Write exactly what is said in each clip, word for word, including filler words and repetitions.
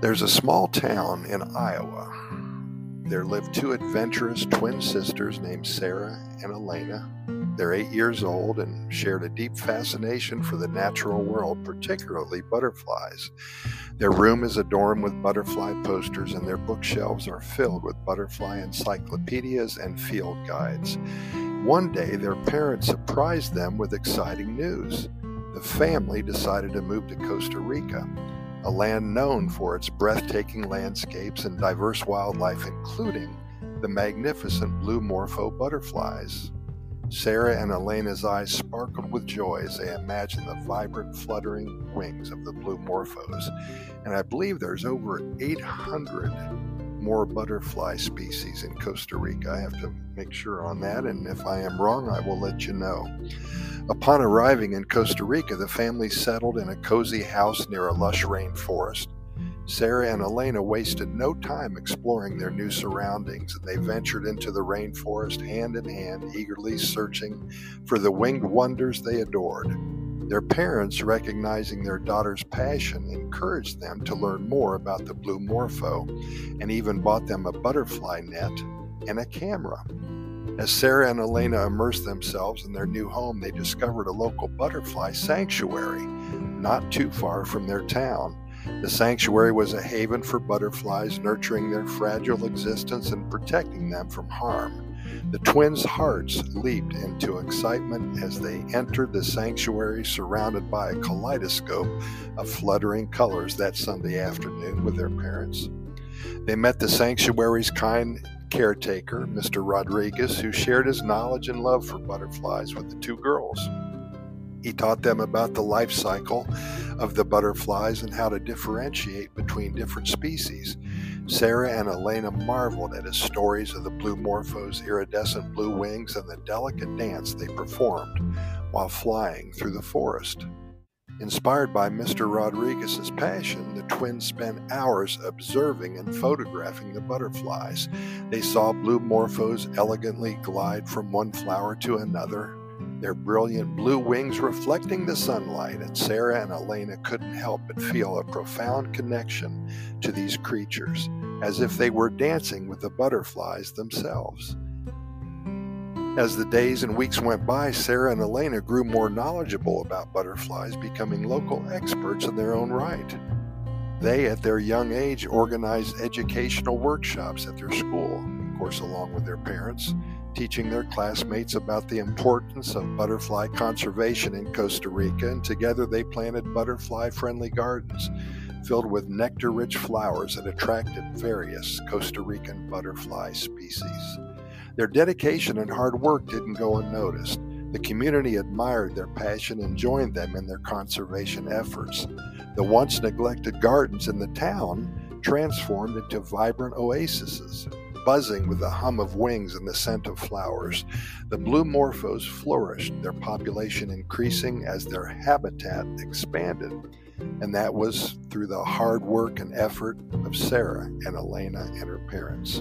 There's a small town in Iowa. There live two adventurous twin sisters named Sarah and Elena. They're eight years old and shared a deep fascination for the natural world, particularly butterflies. Their room is adorned with butterfly posters, and their bookshelves are filled with butterfly encyclopedias and field guides. One day, their parents surprised them with exciting news. The family decided to move to Costa Rica, a land known for its breathtaking landscapes and diverse wildlife, including the magnificent blue morpho butterflies. Sarah and Elena's eyes sparkled with joy as they imagined the vibrant, fluttering wings of the blue morphos. And I believe there's over eight hundred more butterfly species in Costa Rica. I have to make sure on that, and if I am wrong, I will let you know. Upon arriving in Costa Rica, the family settled in a cozy house near a lush rainforest. Sarah and Elena wasted no time exploring their new surroundings, and they ventured into the rainforest hand in hand, eagerly searching for the winged wonders they adored. Their parents, recognizing their daughter's passion, encouraged them to learn more about the blue morpho and even bought them a butterfly net and a camera. As Sarah and Elena immersed themselves in their new home, they discovered a local butterfly sanctuary not too far from their town. The sanctuary was a haven for butterflies, nurturing their fragile existence and protecting them from harm. The twins' hearts leaped into excitement as they entered the sanctuary, surrounded by a kaleidoscope of fluttering colors that Sunday afternoon with their parents. They met the sanctuary's kind caretaker, Mister Rodriguez, who shared his knowledge and love for butterflies with the two girls. He taught them about the life cycle of the butterflies and how to differentiate between different species. Sarah and Elena marveled at his stories of the blue morpho's iridescent blue wings and the delicate dance they performed while flying through the forest. Inspired by Mister Rodriguez's passion, the twins spent hours observing and photographing the butterflies. They saw blue morphos elegantly glide from one flower to another, their brilliant blue wings reflecting the sunlight, and Sarah and Elena couldn't help but feel a profound connection to these creatures, as if they were dancing with the butterflies themselves. As the days and weeks went by, Sarah and Elena grew more knowledgeable about butterflies, becoming local experts in their own right. They, at their young age, organized educational workshops at their school, of course along with their parents, teaching their classmates about the importance of butterfly conservation in Costa Rica, and together they planted butterfly-friendly gardens filled with nectar-rich flowers that attracted various Costa Rican butterfly species. Their dedication and hard work didn't go unnoticed. The community admired their passion and joined them in their conservation efforts. The once neglected gardens in the town transformed into vibrant oases, buzzing with the hum of wings and the scent of flowers. The blue morphos flourished, their population increasing as their habitat expanded. And that was through the hard work and effort of Sarah and Elena and her parents.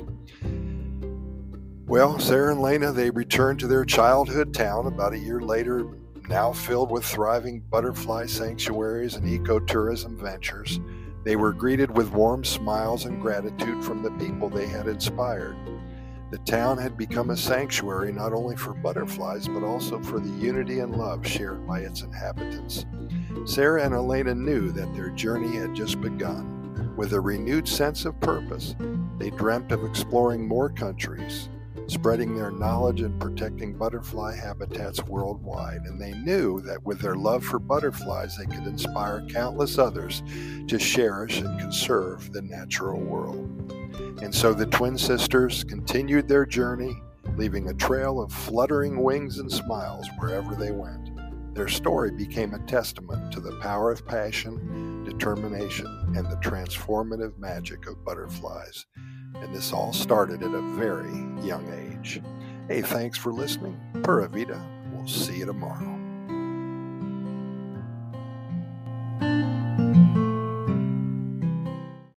Well, Sarah and Elena, they returned to their childhood town about a year later, now filled with thriving butterfly sanctuaries and ecotourism ventures. They were greeted with warm smiles and gratitude from the people they had inspired. The town had become a sanctuary not only for butterflies, but also for the unity and love shared by its inhabitants. Sarah and Elena knew that their journey had just begun. With a renewed sense of purpose, they dreamt of exploring more countries, spreading their knowledge and protecting butterfly habitats worldwide. And they knew that with their love for butterflies, they could inspire countless others to cherish and conserve the natural world. And so the twin sisters continued their journey, leaving a trail of fluttering wings and smiles wherever they went. Their story became a testament to the power of passion, determination, and the transformative magic of butterflies. And this all started at a very young age. Hey, thanks for listening. Pura Vida. We'll see you tomorrow.